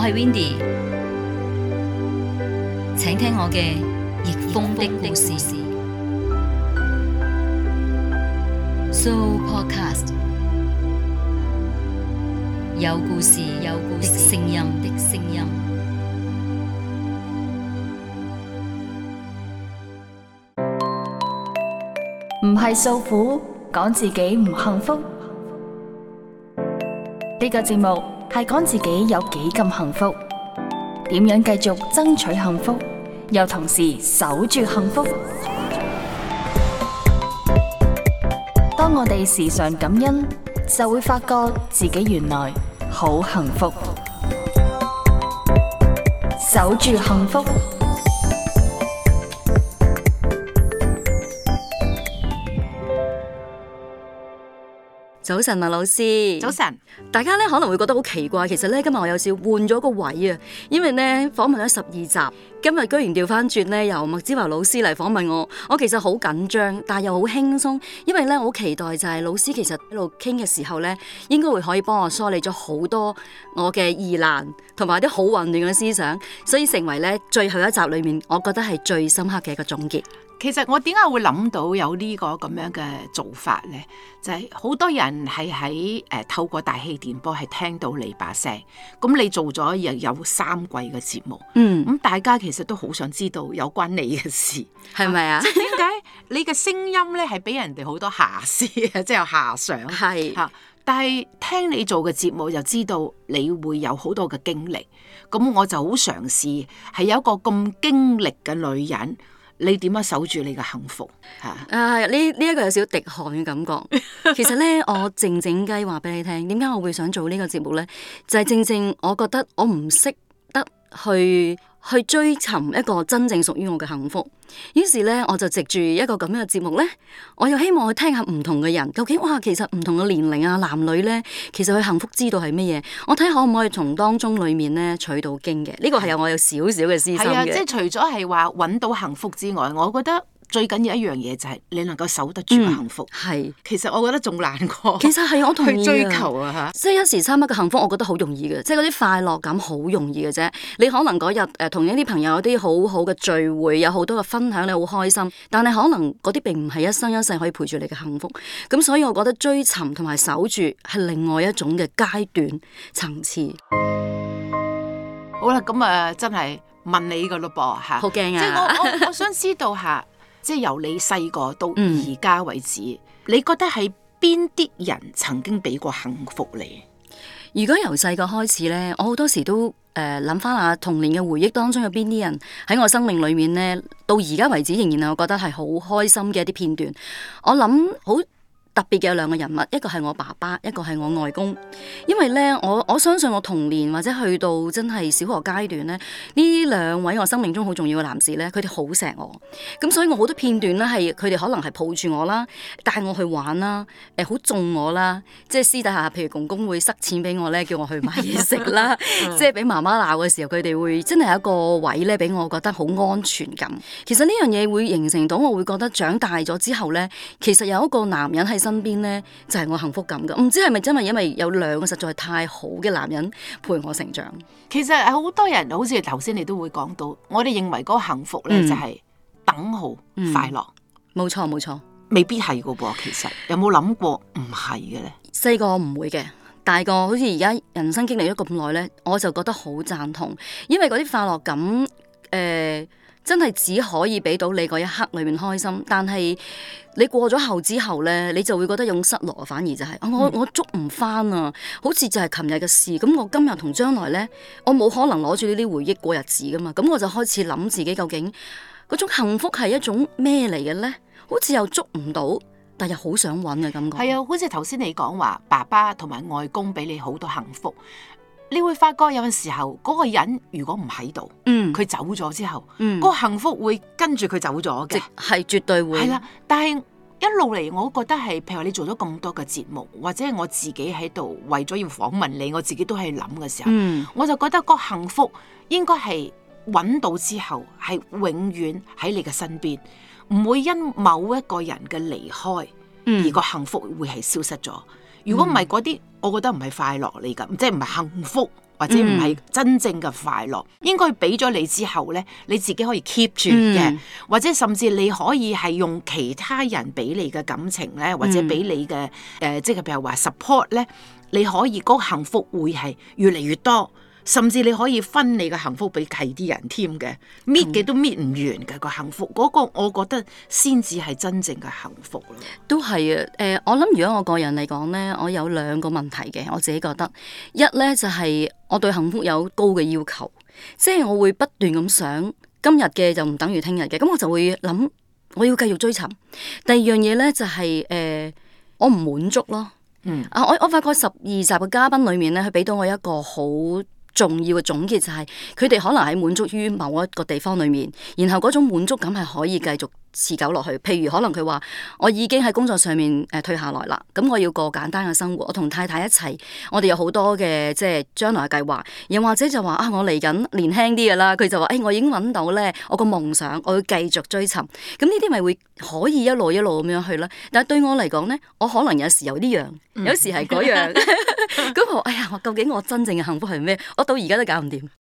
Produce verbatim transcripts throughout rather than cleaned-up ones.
係 Windy， 請聽我嘅逆風的故事。So Podcast 有故事，有故事的聲音的聲音。 唔係訴苦，講自己唔幸福。呢個節目係講自己有幾咁幸福，點樣繼續爭取幸福，又同時守住幸福。當我哋時常感恩，就會發覺自己原來好幸福。守住幸福。 早晨啊，老師。 早晨。 大家咧可能會覺得好奇怪，其實咧今日我有少換咗個位啊，因為咧訪問咗十二集，今日居然調翻轉咧由麥之華老師嚟訪問我，我其實好緊張，但係又好輕鬆，因為咧我好期待就係老師其實喺度傾嘅時候咧，應該會可以幫我梳理咗好多我嘅疑難同埋啲好混亂嘅思想，所以成為咧最後一集裏面，我覺得係最深刻嘅一個總結。 其實我點解會諗到有呢個咁樣嘅做法呢？就係、是、好多人係喺誒透過大氣電波係聽到你把聲，咁你做咗又有三季嘅節目，嗯，咁大家其實都好想知道有關你嘅事， 係咪啊？ 即係點解你嘅聲音咧係俾人哋好多遐思啊，即係有遐想，係嚇。但係聽你做嘅節目，就知道你會有好多嘅經歷，咁我就好嘗試係有一個咁經歷嘅女人。你點樣守住你嘅幸福？嚇！ 啊，呢呢一個有少少滴汗嘅感覺。其實咧，我靜靜雞話俾你聽，點解我會想做呢個節目咧？就係、是、正正我覺得我唔識得去去追尋一個真正屬於我嘅幸福。於是咧，我就藉住一個咁樣嘅節目咧，我又希望去聽下唔同嘅人，究竟哇，其實唔同嘅年齡啊，男女咧，其實佢幸福之道係乜嘢？我睇可唔可以從當中裡面咧取到經嘅？呢、這個係有我有少少嘅私心嘅。 係啊，即係除咗係話揾到幸福之外，我覺得最緊要一樣嘢就係你能夠守得住嘅幸福。係、嗯，其實我覺得仲難過。 其實係我同意去追求啊嚇， 即係一時三刻嘅幸福，我覺得好容易嘅，即係嗰啲快樂感好容易嘅啫。你可能嗰日誒同一啲朋友有啲好好嘅聚會，有好多嘅分享，你好開心。但係可能嗰啲並唔係一生一世可以陪住你嘅幸福。咁所以我覺得追尋同埋守住係另外一種嘅階段層次。 好啦，咁啊真係問你噶咯噃嚇， 好驚啊！ 即係我我我想知道下。即係由你細個到而家為止，嗯、你覺得係邊啲人曾經俾過幸福你？ 如果由細個開始咧，我好多時都誒諗翻下童年嘅回憶當中有邊啲人喺我生命裏面咧，到而家為止仍然係我覺得係好開心嘅一啲片段。我諗好特別嘅有兩個人物，一個係我爸爸，一個係我外公。因為咧，我我相信我童年或者去到真係小學階段咧，呢兩位我生命中好重要嘅男士咧，佢哋好錫我。咁所以我好多片段咧係佢哋可能係抱住我啦，帶我去玩啦，誒好縱我啦，即係私底下譬如公公會塞錢俾我咧，叫我去買嘢食啦，即係俾媽媽鬧嘅時候，佢哋會真係有一個位咧俾我覺得好安全感。其實呢樣嘢會形成到我會覺得長大咗之後咧，其實有一個男人喺身邊咧就係、是、我幸福感噶，唔知係咪真係因為有兩個實在太好嘅男人陪我成長。 其實好多人好似頭先你都會講到，我哋認為嗰個幸福咧、嗯、就係等號快樂， 冇錯冇錯， 未必係噶噃。其實有冇諗過唔係嘅咧？ 細個唔會嘅，大個好似而家人生經歷咗咁耐咧，我就覺得好贊同，因為嗰啲快樂感誒。呃真係只可以俾到你嗰一刻裏面開心，但係你過咗後之後咧，你就會覺得有種失落，反而就係、是嗯、我我捉唔翻啊，好似就係琴日嘅事。咁我今日同將來咧，我冇可能攞住呢啲回憶過日子噶嘛。咁我就開始諗自己究竟嗰種幸福係一種咩嚟嘅咧？好似又捉唔到，但又好想揾嘅感覺。 係啊，好似頭先你講話，爸爸同埋外公俾你好多幸福。你會發覺有陣時候嗰、那個人如果唔喺度，嗯，佢走咗之後，嗯，嗰個幸福會跟住佢走咗嘅， 係絕對會。係啦， 但係一路嚟，我覺得係，譬如你做咗咁多嘅節目，或者我自己喺度為咗要訪問你，我自己都係諗嘅時候，嗯，我就覺得嗰個幸福應該係揾到之後係永遠喺你嘅身邊，唔會因某一個人嘅離開，嗯，而個幸福會係消失咗。如果唔係嗰啲，我覺得唔係快樂嚟㗎，即係唔係幸福， 或者唔係真正嘅快樂，嗯、應該俾咗你之後咧，你自己可以 keep 住嘅，嗯、或者甚至你可以係用其他人俾你嘅感情咧，或者俾你嘅誒、呃，即係譬如話 support 咧，你可以嗰個幸福會係越嚟越多。甚至你可以分你嘅幸福俾其啲人添嘅，搣嘅都搣唔完嘅個幸福，嗰、嗰個我覺得先至係真正嘅幸福咯。 都係啊，誒、呃，我諗如果我個人嚟講咧，我有兩個問題嘅，我自己覺得，一咧就係、是、我對幸福有高嘅要求，即係我會不斷咁想，今日嘅就唔等於聽日嘅，咁我就會諗我要繼續追尋。第二樣嘢咧就係、是、誒、呃，我唔滿足咯。嗯啊，我我發覺十二集嘅嘉賓裏面咧，佢俾到我一個好重要嘅總結就係佢哋可能喺滿足於某一個地方裏面，然後嗰種滿足感係可以繼續持久落去。譬如可能佢話我已經喺工作上面誒退下來啦，咁我要過簡單嘅生活，我同太太一齊，我哋有好多嘅即係將來嘅計劃。又或者就話啊，我嚟緊年輕啲嘅啦，佢就話誒、哎，我已經揾到咧我個夢想，我要繼續追尋。咁呢啲咪會可以一路一路咁樣去啦。但係對我嚟講咧，我可能有時有呢樣，有時係嗰樣。咁我哎呀，我究竟我真正嘅幸福係咩？我到而家都搞唔掂。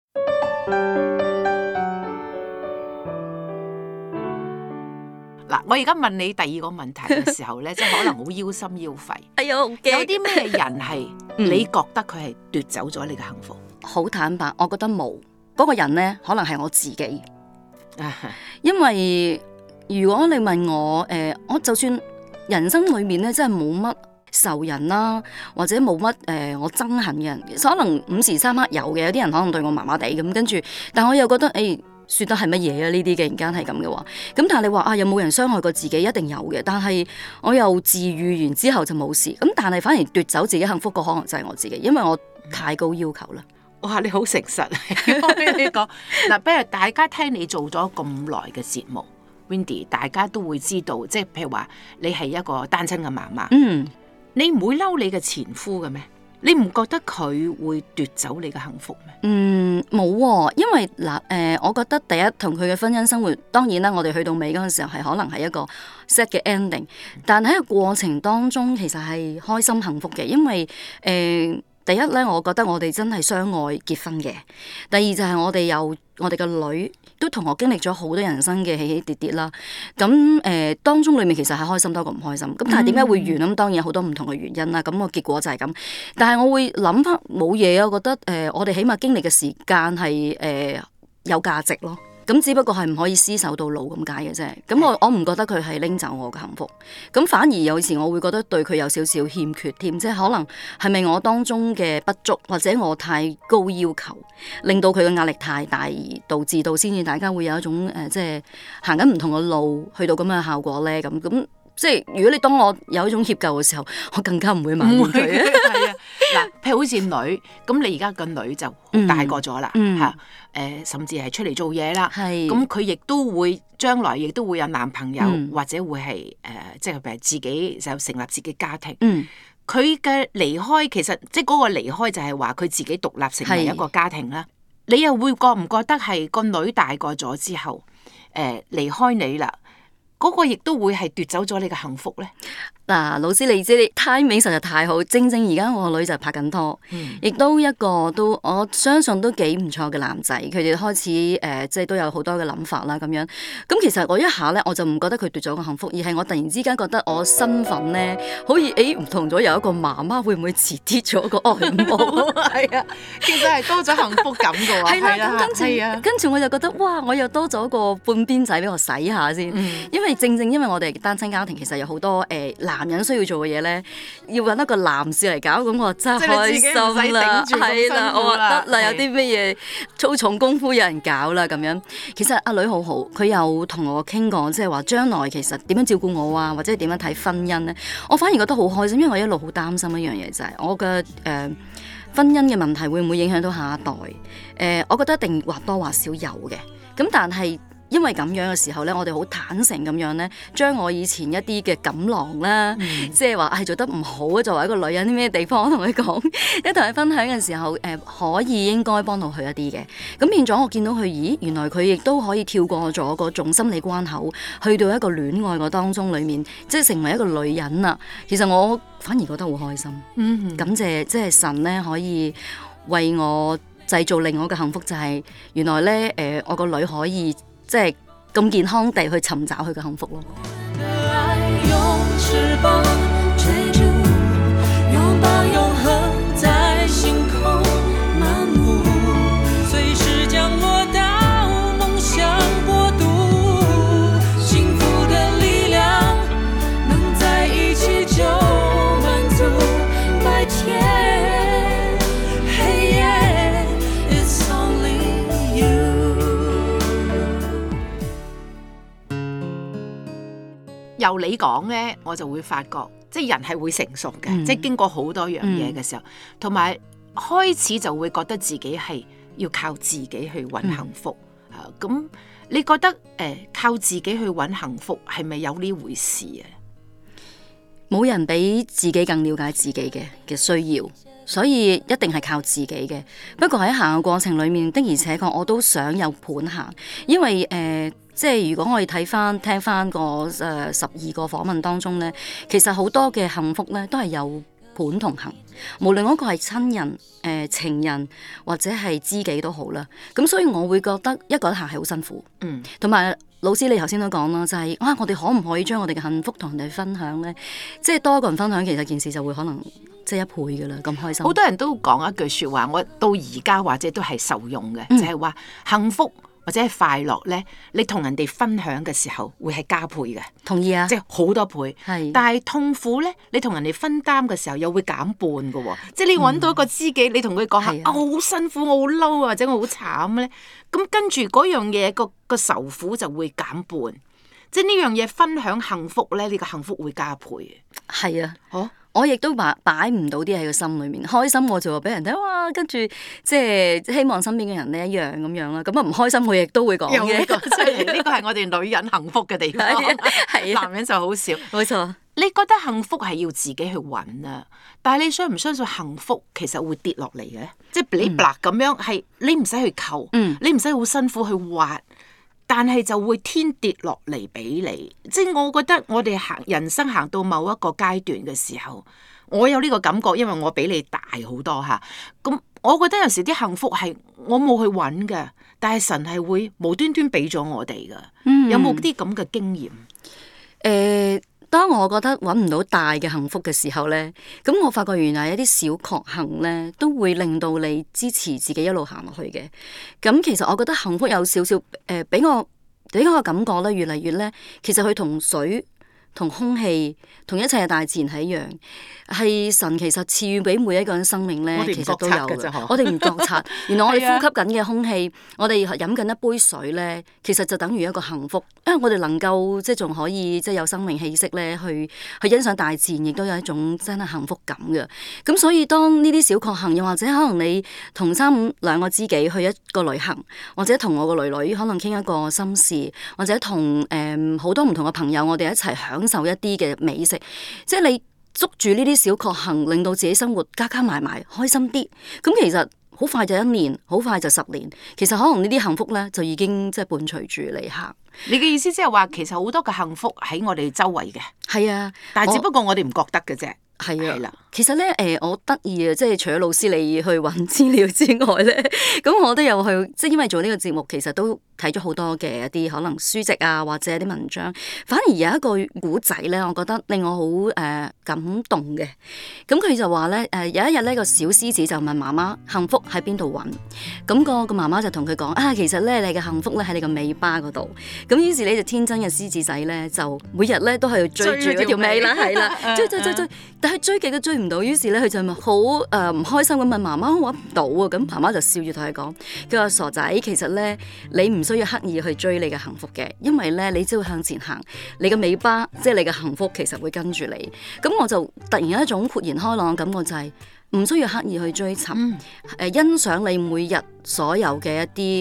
嗱，我而家問你第二個問題嘅時候咧，即係可能好腰心腰肺。 哎呀，有啲咩人係你覺得佢係奪走咗你嘅幸福？ 好、嗯、坦白，我覺得冇嗰、嗰個人咧，可能係我自己。因為如果你問我，誒、呃，我就算人生裏面咧，真係冇乜仇人啦，或者冇乜誒我憎恨嘅人，可能午時三刻有嘅，有啲人可能對我麻麻地咁，跟住，但我又覺得誒。欸說得係乜嘢啊？呢啲嘅人間係咁嘅話，咁但係你話啊，有冇人傷害過自己？一定有嘅。但係我又治愈完之後就冇事。咁但係反而奪走自己幸福個可能就係我自己，因為我太高要求啦。 哇！你好誠實，我俾你講嗱，不如大家聽你做咗咁耐嘅節目 ，Wendy， 大家都會知道，即係譬如話你係一個單親嘅媽媽，嗯，你唔會嬲你嘅前夫嘅咩？你唔覺得佢會奪走你嘅幸福咩？ 嗯，冇、哦，因為嗱，誒、呃，我覺得第一同佢嘅婚姻生活，當然啦，我哋去到尾嗰陣時候係可能係一個 sad 嘅 ending，但喺個過程當中其實係開心幸福嘅，因為誒、呃，第一咧，我覺得我哋真係相愛結婚嘅；第二就係我哋有我哋嘅女。都同我經歷咗好多人生嘅起起跌跌啦，咁誒、呃、當中裡面其實係開心多過唔開心，咁但係點解會完咁？當然有好多唔同嘅原因啦，咁個結果就係咁。但係我會諗翻冇嘢啊，我覺得誒、呃、我哋起碼經歷嘅時間係誒、呃、有價值咯。咁只不過係唔可以廝守到老咁解嘅啫。咁我我唔覺得佢係拎走我嘅幸福，咁反而有時我會覺得對佢有少少欠缺添，即係可能係咪我當中嘅不足，或者我太高要求，令到佢嘅壓力太大，而導致到先至大家會有一種誒、呃，即係行緊唔同嘅路，去到咁嘅效果咧。咁咁即係如果你當我有一種歉疚嘅時候，我更加唔會埋怨佢。 係啊，嗱，譬如好似女，咁你而家個女就大個咗啦，嚇、嗯，誒、嗯呃，甚至係出嚟做嘢啦，咁佢亦都會將來亦都會有男朋友，嗯、或者會係誒、呃，即係譬如自己就成立自己家庭。佢嘅、嗯、離開其實即係嗰個離開就係話佢自己獨立成為一個家庭啦。是你又會覺唔覺得係個女大個咗之後，誒、呃、離開你啦？嗰個亦都會係奪走咗你嘅幸福咧。 嗱、啊，老師你知你 timing 實在太好，正正而家我個女就拍緊拖，亦、嗯、都一個都我相信都幾唔錯嘅男仔，佢哋開始誒、呃，即係都有好多嘅諗法啦咁樣。咁其實我一下咧，我就唔覺得佢奪咗個幸福，而係我突然之間覺得我身份咧，好似誒唔同咗，有一個媽媽會唔會遲啲咗個外母？ 係啊，其實係多咗幸福感嘅喎。係啦，咁跟住跟住我就覺得哇，我又多咗個半邊仔俾我洗下先，嗯、因為正正因為我哋單親家庭，其實有好多誒、呃、男人需要做嘅嘢咧，要揾一個男士嚟搞，咁我真係開心啦，係啦，我話得啦，有啲咩嘢粗重功夫有人搞啦咁樣。其實阿女好好，佢有同我傾過，即係話將來其實點樣照顧我啊，或者點樣睇婚姻咧，我反而覺得好開心，因為我一路好擔心一樣嘢就係、是、我嘅誒、呃、婚姻嘅問題會唔會影響到下一代？誒、呃，我覺得一定或多或少有嘅，咁但係。因為咁樣嘅時候咧，我哋好坦誠咁樣咧，將我以前一啲嘅錦囊啦，嗯、即係話係做得唔好啊，作為一個女人啲咩地方，我同佢講，一同佢分享嘅時候，誒、呃、可以應該幫到佢一啲嘅。咁變咗我見到佢，咦，原來佢亦都可以跳過咗嗰種心理關口，去到一個戀愛個當中裡面，即係成為一個女人啊。其實我反而覺得好開心，嗯、哼感謝即係神咧可以為我製造另外一個幸福，就係、是、原來咧誒、呃，我個女可以即係咁健康地去尋找佢嘅幸福咯。 由你講咧，我就會發覺，即係人係會成熟嘅，嗯、即係經過好多樣嘢嘅時候，同埋、嗯、開始就會覺得自己係要靠自己去揾幸福。嚇、嗯，咁、啊、你覺得誒、呃、靠自己去揾幸福係咪有呢回事啊？ 冇人比自己更了解自己嘅嘅需要，所以一定係靠自己嘅。不過喺行嘅過程裡面的而且確，我都想有盤行，因為誒。呃即係如果我哋睇翻聽翻個誒十二個訪問當中咧，其實好多嘅幸福咧都係有盤同行，無論嗰個係親人、誒、呃、情人或者係知己都好啦。咁所以我會覺得一個人行係好辛苦，嗯，同埋老師你頭先都講啦，就係、是、啊，我哋可唔可以將我哋嘅幸福同人哋分享咧？即係多個人分享，其實件事就會可能即係一倍噶啦，咁開心。好多人都講一句説話，我到而家或者都係受用嘅，嗯、就係話幸福或者係快樂咧，你同人哋分享嘅時候會係加倍嘅，同意啊，即係好多倍。係，但係痛苦咧，你同人哋分擔嘅時候又會減半嘅喎。即係你揾到一個知己，嗯、你同佢講下啊，我好辛苦，我好嬲啊，或者我好慘咧，咁跟住嗰樣嘢個個愁苦就會減半。即係呢樣嘢分享幸福咧，你個幸福會加倍嘅。係啊，好。我亦都擺擺唔到啲喺個心裏面，開心我就話俾人睇，哇！跟住即係希望身邊嘅人咧一樣咁樣啦。咁啊唔開心，我亦都會講嘅。呢個呢個係我哋女人幸福嘅地方，係男人就好少。冇錯。你覺得幸福係要自己去揾啊？但係你相唔相信幸福其實會跌落嚟嘅？即係你嗱咁樣係你唔使去求，嗯、你唔使好辛苦去挖。但係就會天跌落嚟俾你，即係我覺得我哋行人生行到某一個階段嘅時候，我有呢個感覺，因為我比你大好多嚇。咁我覺得有時啲幸福係我冇去揾嘅，但係神係會無端端俾咗我哋噶。嗯、有冇啲咁嘅經驗？誒、呃。當我覺得揾唔到大嘅幸福嘅時候呢，咁我發覺原來一啲小確幸呢都會令到你支持自己一路行落去嘅。咁其實我覺得幸福有少少誒，俾我俾我嘅感覺呢，越嚟越呢，其實佢同水、同空氣、同一切嘅大自然係一樣，係神其實賜予俾每一個人生命咧，其實都有嘅。我哋唔覺察，原來我哋呼吸緊嘅空氣，我哋飲緊一杯水咧，其實就等於一個幸福，因為我哋能夠即係仲可以即係有生命氣息咧，去去欣賞大自然，亦都有一種真係幸福感嘅。咁所以當呢啲小確幸，又或者可能你同三五兩個知己去一個旅行，或者同我個女女可能傾一個心事，或者同誒好多唔同嘅朋友，我哋一齊享受一啲嘅美食，即係你捉住呢啲小確幸，令到自己生活加加埋埋開心啲。咁其實好快就一年，好快就十年。其實可能呢啲幸福咧，就已經即係伴隨住你行。你嘅意思即係話，其實好多嘅幸福喺我哋周圍嘅。係啊，但係只不過我哋唔覺得嘅啫。係啊，係啦。其實咧，誒、呃，我得意啊，即係除咗老師你去揾資料之外咧，咁我都有去，即係因為做呢個節目，其實都睇咗好多嘅一啲可能書籍啊，或者一啲文章。反而有一個古仔咧，我覺得令我好誒、呃、感動嘅。咁佢就話咧，誒、呃、有一日呢個小獅子就問媽媽幸福喺邊度揾？咁、個個媽媽就同佢講啊，其實咧你嘅幸福咧喺你個尾巴嗰度。咁於是呢隻天真嘅獅子仔咧，就每日咧都係追住嗰條尾啦，係啦，追追追追，但係追極都追唔到。於是咧佢就咪好誒唔開心咁問媽媽，我揾唔到啊！咁媽媽就笑住同佢講：佢話傻仔，其實咧你唔需要刻意去追你嘅幸福嘅，因為咧你只要向前行，你嘅尾巴即係你嘅幸福，其實會跟住你。咁我就突然有一種豁然開朗嘅感覺，就係唔需要刻意去追尋，誒、嗯呃、欣賞你每日所有嘅一啲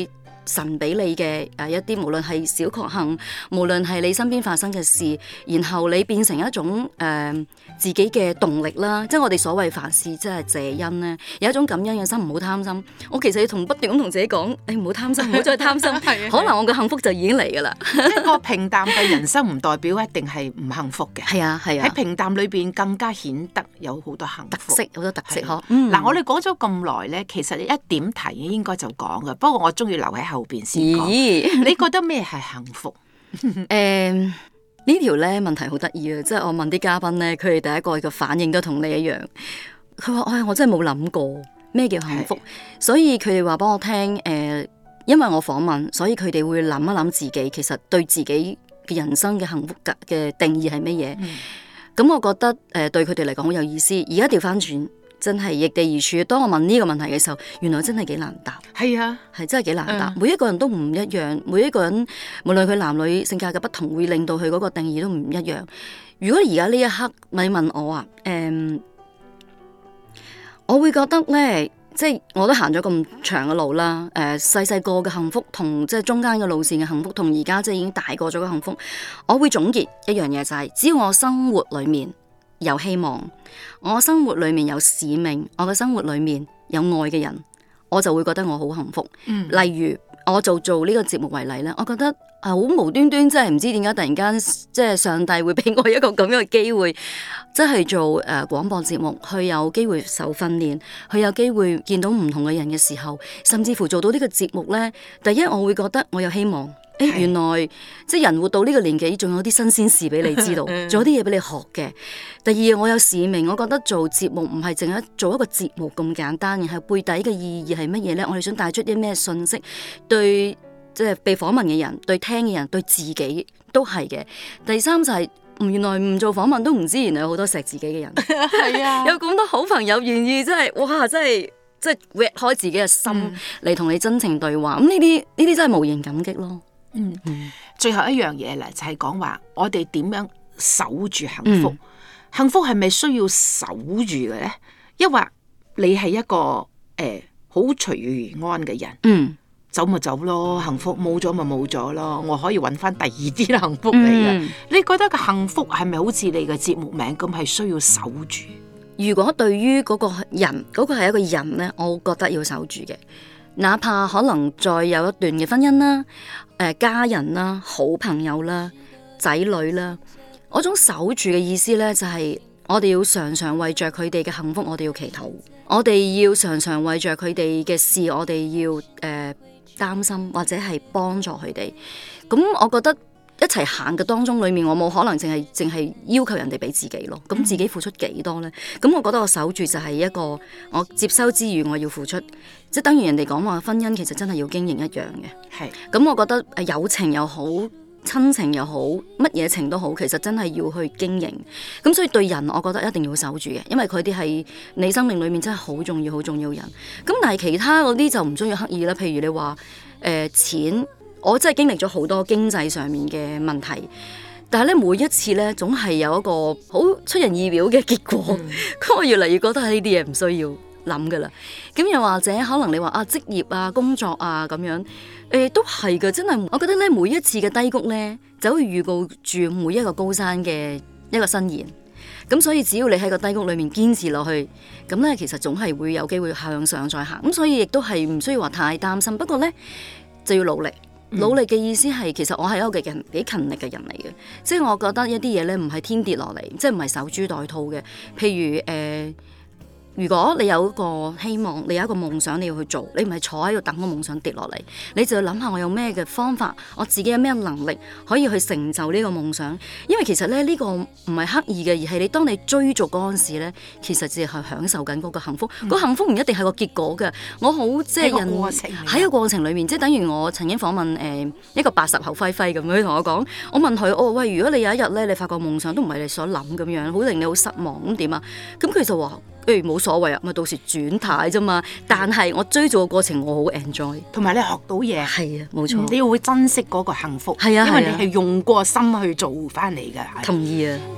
神俾你嘅誒一啲，無論係小確幸，無論係你身邊發生嘅事，然後你變成一種誒、呃、自己嘅動力啦。即係我哋所謂凡事即係謝恩咧，有一種感恩嘅心，唔好貪心。我其實要同不斷咁同自己講，誒唔好貪心，唔好再貪心，可能我嘅幸福就已經嚟㗎啦。 一個平淡嘅人生唔代表一定係唔幸福嘅。 係啊係啊， 喺平淡裏邊更加顯得有好多幸福特色，好多特色嗬。嗱、 嗯，我哋講咗咁耐咧，其實一點題應該就講嘅，不過我中意留喺後邊先講。咦你覺得咩係幸福？ 誒、嗯、呢條咧問題好得意啊！即係我問啲嘉賓咧，佢哋第一個嘅反應都同你一樣。佢話：哎，我真係冇諗過咩叫幸福，是所以佢哋話幫我聽。誒、呃，因為我訪問，所以佢哋會諗一諗自己其實對自己嘅人生嘅幸福嘅嘅定義係乜嘢。咁、嗯、我覺得誒、呃、對佢哋嚟講好有意思。而家調翻轉。真係易地而處。當我問呢個問題嘅時候，原來真係幾難答。 係啊， 係真係幾難答。 嗯、 每一個人都唔一樣，每一個人無論佢男女性格嘅不同，會令到佢嗰個定義都唔一樣。如果而家呢一刻你問我啊，誒、嗯，我會覺得咧，即係我都行咗咁長嘅路啦。誒、呃，細細個嘅幸福同即係中間嘅路線嘅幸福，同而家即係已經大個咗嘅幸福，我會總結一樣嘢就係、是，只要我生活裏面有希望，我生活裏面有使命，我嘅生活裏面有愛嘅人，我就會覺得我好幸福。嗯、例如我就做呢個節目為例咧，我覺得啊好無端端，真係唔知點解突然間即係上帝會俾我一個咁樣嘅機會，即係做誒、呃、廣播節目，去有機會受訓練，去有機會見到唔同嘅人嘅時候，甚至乎做到呢個節目咧，第一我會覺得我有希望。誒，原來即係人活到呢個年紀，仲有啲新鮮事俾你知道，仲有啲嘢俾你學嘅。第二，我有使命，我覺得做節目唔係淨係做一個節目咁簡單，而係背底嘅意義係乜嘢咧？我哋想帶出啲咩信息，對即係被訪問嘅人，對聽嘅人，對自己都係嘅。第三就係、是，原來唔做訪問都唔知，原來有好多錫自己嘅人，係啊，有咁多好朋友願意，真係哇，真係即係搣開自己嘅心嚟同、嗯、你真情對話。咁呢啲呢啲真係無形感激咯。 嗯，最後一樣嘢咧，就係講話我哋點樣守住幸福？嗯、幸福係咪需要守住嘅咧？抑或你係一個誒好隨遇而安嘅人？嗯，走咪走咯，幸福冇咗咪冇咗咯，我可以揾翻第二啲幸福嚟嘅。嗯、你覺得個幸福係咪好似你嘅節目名咁，係需要守住？ 如果對於嗰個人，嗰、嗰個係一個人咧，我覺得要守住嘅。哪怕可能再有一段嘅婚姻啦、誒、呃、家人啦、好朋友啦、仔女啦，嗰種守住嘅意思咧，就係、是、我哋要常常為着佢哋嘅幸福，我哋要祈禱；我哋要常常為着佢哋嘅事，我哋要誒、呃、擔心或者係幫助佢哋。咁我覺得一齊行嘅當中裏面，我冇可能淨係淨係要求人哋俾自己咯。咁自己付出幾多呢？咁我覺得我守住就係一個我接收之餘，我要付出，即係等於人哋講話婚姻其實真係要經營一樣嘅。係咁是，我覺得誒友情又好，親情又好，乜嘢情都好，其實真係要去經營。咁所以對人，我覺得一定要守住嘅，因為佢哋係你生命裏面真係好重要、好重要人。咁但係其他嗰啲就唔需要刻意啦。譬如你話誒、呃、錢。我真係經歷咗好多經濟上面嘅問題，但係咧每一次咧總係有一個好出人意表嘅結果，咁、嗯、我越嚟越覺得係呢啲嘢唔需要諗噶啦。咁又或者可能你話啊職業啊工作啊咁樣，誒、欸、都係噶，真係我覺得咧每一次嘅低谷咧，就會預告住每一個高山嘅一個伸延。咁所以只要你喺個低谷裏面堅持落去，咁咧其實總係會有機會向上再行。咁所以亦都係唔需要話太擔心，不過咧就要努力。努力嘅意思係，其實我係一個幾幾勤力嘅人嚟嘅，即係我覺得一啲嘢咧唔係天跌落嚟，即係唔係守株待兔嘅。譬如誒、呃，如果你有一個希望，你有一個夢想你要去做，你唔係坐喺度等個夢想跌落嚟，你就要諗下我有咩嘅方法，我自己有咩能力可以去成就呢個夢想。因為其實咧呢、這個唔係刻意嘅，而係你當你追逐嗰陣時咧，其實只係享受緊嗰個幸福。嗯、個幸福唔一定係個結果嘅。我好即係人喺個過程裏面，即係等於我曾經訪問誒、呃、一個八十後輝輝咁樣，佢同我講，我問佢哦喂，如果你有一日咧，你發覺夢想都唔係你所諗咁樣，好令你好失望咁點啊？咁佢就話。誒冇、欸、所謂啊，咪到時轉態啫嘛。但係我追逐嘅過程，我好 enjoy， 同埋你學到嘢。係啊，冇錯、嗯。你要會珍惜嗰個幸福。係啊，因為你係用過心去做翻嚟嘅。 同意啊。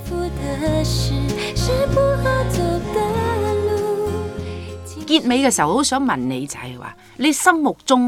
結尾嘅時候，好想問你就係話，你心目中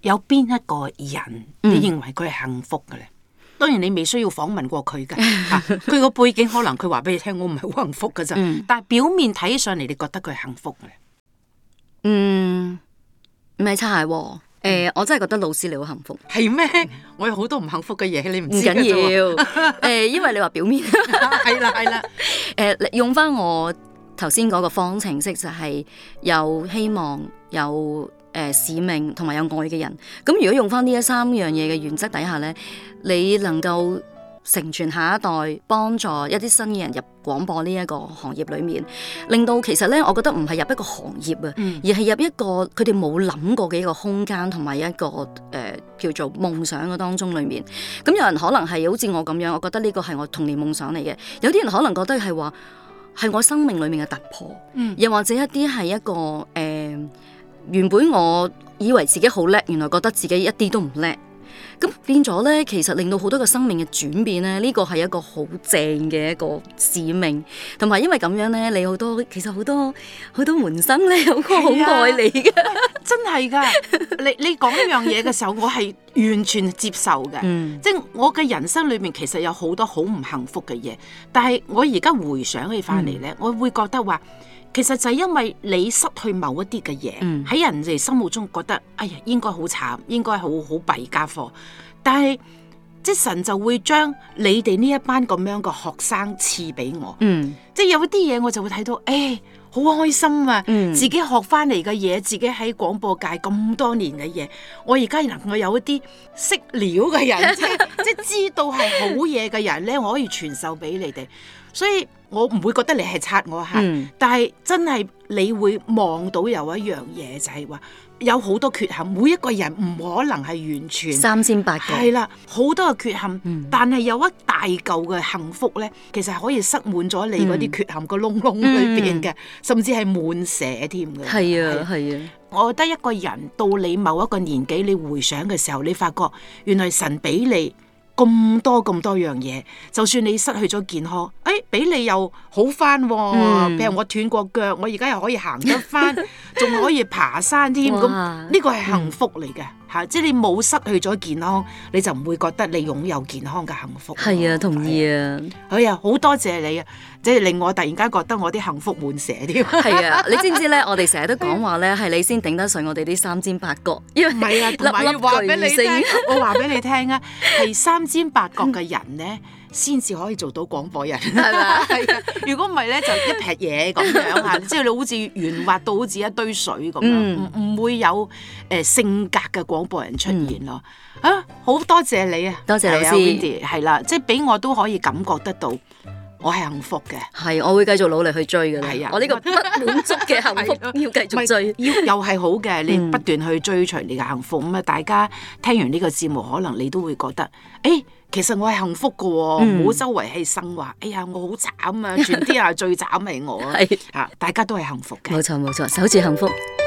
有邊一個人你認為佢係幸福嘅咧？嗯、當然你未需要訪問過佢嘅，佢個、啊、背景可能佢話俾你聽，我唔係好幸福㗎咋。嗯、但係表面睇上嚟，你覺得佢係幸福嘅？ 嗯，唔係擦鞋喎。誒、呃，我真係覺得老師你好幸福。 係咩？我有好多唔幸福嘅嘢，你唔知嘅啫。唔緊要。 誒、呃，因為你話表面。 係啦，係啦。 誒，用翻我頭先嗰個方程式，就係有希望、有誒、呃、使命同埋有，有愛嘅人。咁如果用翻呢一三樣嘢嘅原則底下咧，你能夠承傳下一代，幫助一啲新嘅人入廣播呢一個行業裏面，令到其實咧，我覺得唔係入一個行業啊，嗯、而係入一個佢哋冇諗過嘅一個空間，同埋一個誒、呃、叫做夢想嘅當中裏面。咁有人可能係好似我咁樣，我覺得呢個係我童年夢想嚟嘅。有啲人可能覺得係話係我生命裏面嘅突破，嗯、又或者一啲係一個誒、呃、原本我以為自己好叻，原來覺得自己一啲都唔叻。咁變咗咧，其實令到好多個生命嘅轉變咧，呢個係一個好正嘅一個使命，同埋因為咁樣咧，你好多其實好多好多門生咧，好好愛你嘅， 真係噶。你你講呢樣嘢嘅時候，我係完全接受嘅，嗯、即係我嘅人生裏面其實有好多好唔幸福嘅嘢，但係我而家回想起翻嚟咧，嗯、我會覺得話。其實就係因為你失去某一啲嘅嘢，喺、嗯、人哋心目中覺得，哎呀，應該好慘，應該好好弊家伙。但係即神就會將你哋呢一班咁樣嘅學生賜俾我，嗯、即係有啲嘢我就會睇到，誒、哎，好開心啊！嗯、自己學翻嚟嘅嘢，自己喺廣播界咁多年嘅嘢，我而家能夠有一啲識料嘅人，即係即係知道係好嘢嘅人咧，我可以傳授俾你哋，所以。我唔會覺得你係擦我鞋，嗯、但係真係你會望到有一樣嘢，就係話有好多缺陷，每一個人唔可能係完全三千八個， 係啦，好多嘅缺陷，嗯、但係有一大嚿嘅幸福咧，其實係可以塞滿咗你嗰啲缺陷個窿窿裏邊嘅，嗯、甚至係滿瀉添嘅。 係啊，係啊。 我覺得一個人到你某一個年紀，你回想嘅時候，你發覺原來神俾你。咁多咁多樣嘢，就算你失去咗健康，誒、哎，俾你又好翻、哦，譬、嗯、如我斷過腳，我而家又可以行得翻，仲可以爬山添，咁呢個係幸福嚟嘅吓，即係你冇失去咗健康，你就唔會覺得你擁有健康嘅幸福。 係啊，同意啊， 哎呀，好多謝你啊，即係令我突然間覺得我啲幸福滿瀉添。 係啊，你知唔知咧？我哋成日都講話咧，係你先頂得順我哋啲三尖八角，因為唔係啊，同埋話俾你聽，我話俾你聽啊，係三尖八角嘅人咧，先至可以做到廣播人，係咪啊？係啊，如果唔係咧，就一撇嘢咁樣嚇，即係你好似圓滑到好似一堆水咁樣，唔唔、嗯、會有誒、呃、性格嘅廣播人出現咯。嗯、啊，好多謝你啊， 多謝老師， Wendy 係啦，即係俾我都可以感覺得到。我係幸福嘅， 係我會繼續努力去追嘅。 係啊， 我呢個不滿足嘅幸福要繼續追， 要又係好嘅。你不斷去追隨你嘅幸福，咁啊，大家聽完呢個節目，可能你都會覺得，誒，其實我係幸福嘅，唔好周圍係生話，哎呀，我好慘啊，全天下最慘係我啊，係啊，大家都係幸福嘅。 冇錯冇錯，守住幸福。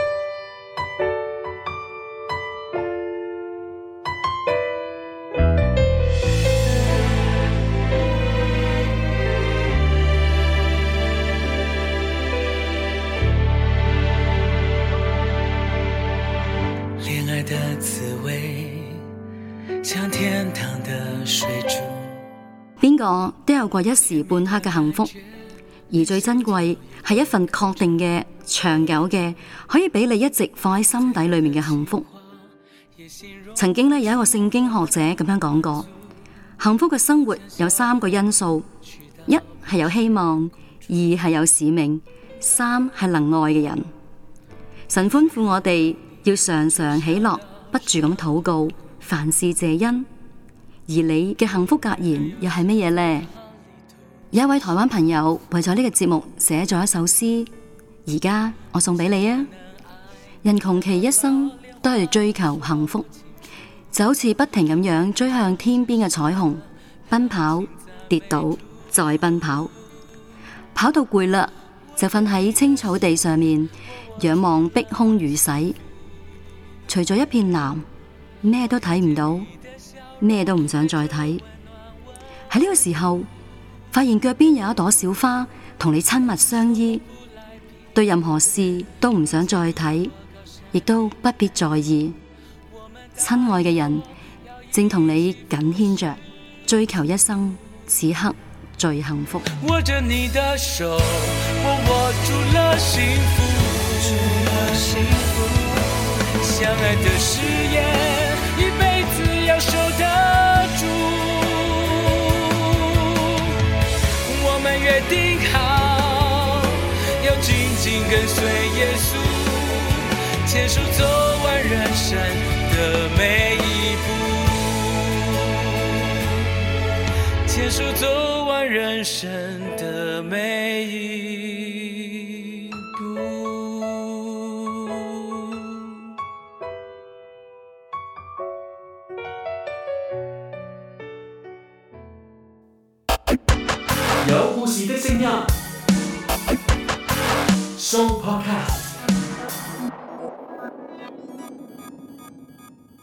邊個都有過一時半刻嘅幸福，而最珍貴係一份確定嘅、長久嘅，可以俾你一直放喺心底裏面嘅幸福。曾經咧有一個聖經學者咁樣講過，幸福嘅生活有三個因素：一係有希望，二係有使命，三係能愛嘅人。神吩咐我哋要常常喜樂，不住咁禱告，凡事謝恩。而你嘅幸福格言又係乜嘢呢？有一位台灣朋友為咗呢個節目寫咗一首詩，而家我送俾你啊！人窮其一生都係追求幸福，就好似不停咁樣追向天邊嘅彩虹，奔跑、跌倒、再奔跑，跑到攰啦，就瞓喺青草地上面，仰望碧空如洗，除咗一片藍，咩都睇唔到。咩都唔想再睇，喺呢個時候發現腳邊有一朵小花同你親密相依，對任何事都唔想再睇，亦都不必在意。 親愛嘅人正同你緊牽着，追求一生此刻最幸福。 握着你的手，我握住了幸福，相愛的誓言一輩子要守得住，我們約定好要緊緊跟隨耶穌，牽手走完人生的每一步，牽手走完人生的每一步。 有故事的聲音 Show Podcast。